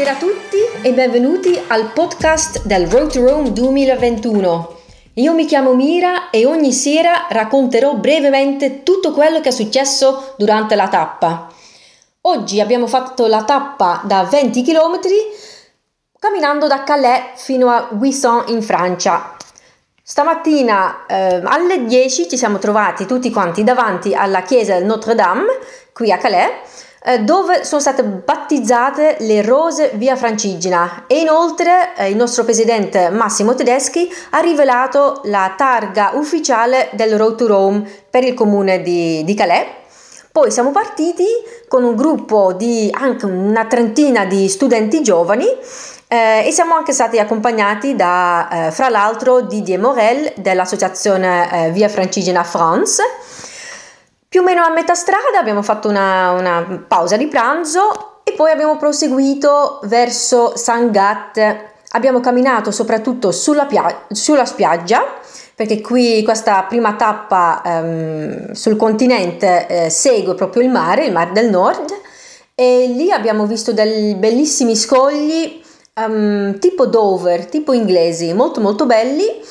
Buonasera a tutti e benvenuti al podcast del Road to Rome 2021. Io mi chiamo Mira e ogni sera racconterò brevemente tutto quello che è successo durante la tappa. Oggi abbiamo fatto la tappa da 20 km camminando da Calais fino a Ouessant in Francia. Stamattina alle 10 ci siamo trovati tutti quanti davanti alla chiesa del Notre Dame qui a Calais, dove sono state battezzate le rose via Francigena, e inoltre il nostro presidente Massimo Tedeschi ha rivelato la targa ufficiale del Road to Rome per il comune di Calais. Poi siamo partiti con un gruppo di anche una trentina di studenti giovani e siamo anche stati accompagnati da fra l'altro Didier Morel dell'associazione Via Francigena France. Più o meno a metà strada abbiamo fatto una pausa di pranzo e poi abbiamo proseguito verso Saint-Gat. Abbiamo camminato soprattutto sulla spiaggia, perché qui questa prima tappa sul continente segue proprio il mare del Nord, e lì abbiamo visto dei bellissimi scogli tipo Dover, tipo inglesi, molto molto belli.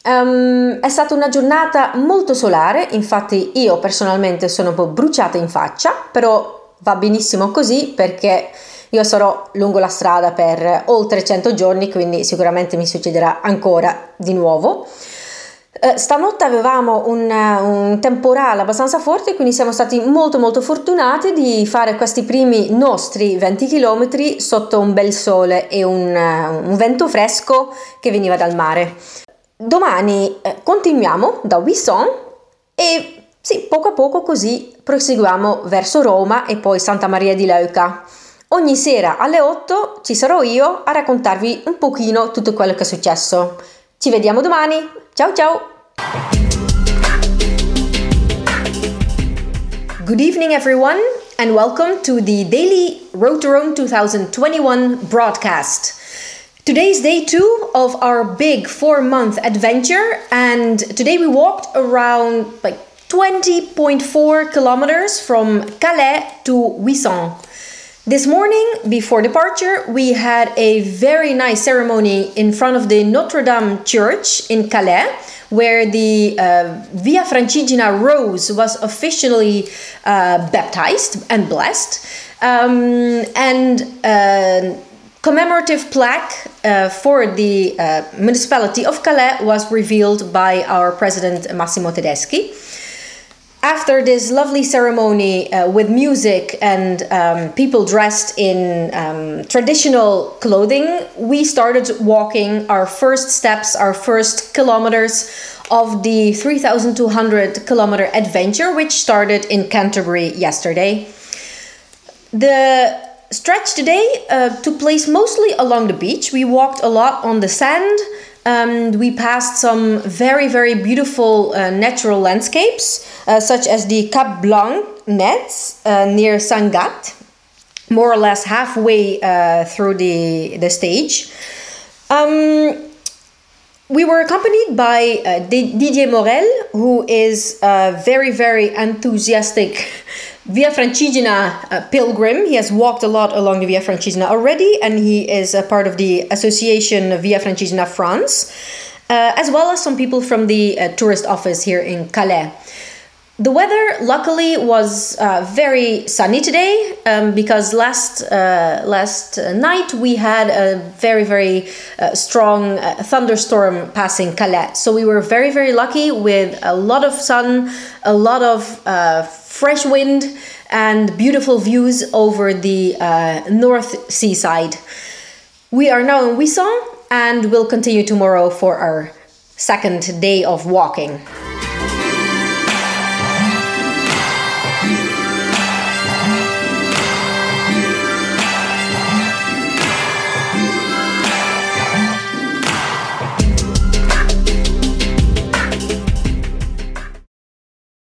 È stata una giornata molto solare, infatti io personalmente sono un po' bruciata in faccia, però va benissimo così perché io sarò lungo la strada per oltre 100 giorni, quindi sicuramente mi succederà ancora di nuovo. Stanotte avevamo un temporale abbastanza forte, quindi siamo stati molto molto fortunati di fare questi primi nostri 20 km sotto un bel sole e un vento fresco che veniva dal mare. Domani continuiamo da Ouessant e sì, poco a poco così proseguiamo verso Roma e poi Santa Maria di Leuca. Ogni sera alle 8 ci sarò io a raccontarvi un pochino tutto quello che è successo. Ci vediamo domani, ciao ciao! Good evening everyone and welcome to the daily Road to Rome 2021 broadcast. Today's day 2 of our big 4-month adventure, and today we walked around 20.4 kilometers from Calais to Ouessant. This morning, before departure, we had a very nice ceremony in front of the Notre Dame Church in Calais, where the Via Francigena Rose was officially baptized and blessed. Commemorative plaque for the municipality of Calais was revealed by our president Massimo Tedeschi. After this lovely ceremony with music and people dressed in traditional clothing, we started walking our first steps, our first kilometers of the 3,200 kilometer adventure, which started in Canterbury yesterday. The stretch today took place mostly along the beach. We walked a lot on the sand. We passed some very, very beautiful natural landscapes, such as the Cap Blanc nets near Saint-Gat, more or less halfway through the stage. We were accompanied by Didier Morel, who is a very, very enthusiastic Via Francigena pilgrim. He has walked a lot along the Via Francigena already, and he is a part of the association Via Francigena France, as well as some people from the tourist office here in Calais. The weather, luckily, was very sunny today because last night we had a very, very strong thunderstorm passing Calais. So we were very, very lucky with a lot of sun, a lot of fresh wind, and beautiful views over the North Seaside. We are now in Ouessant and will continue tomorrow for our second day of walking.